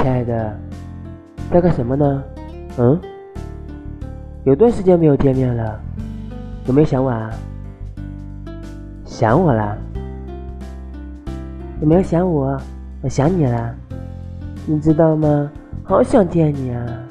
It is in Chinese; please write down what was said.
亲爱的，在干什么呢？有段时间没有见面了，有没有想我啊？想我啦？有没有想我？我想你啦，你知道吗？好想见你啊！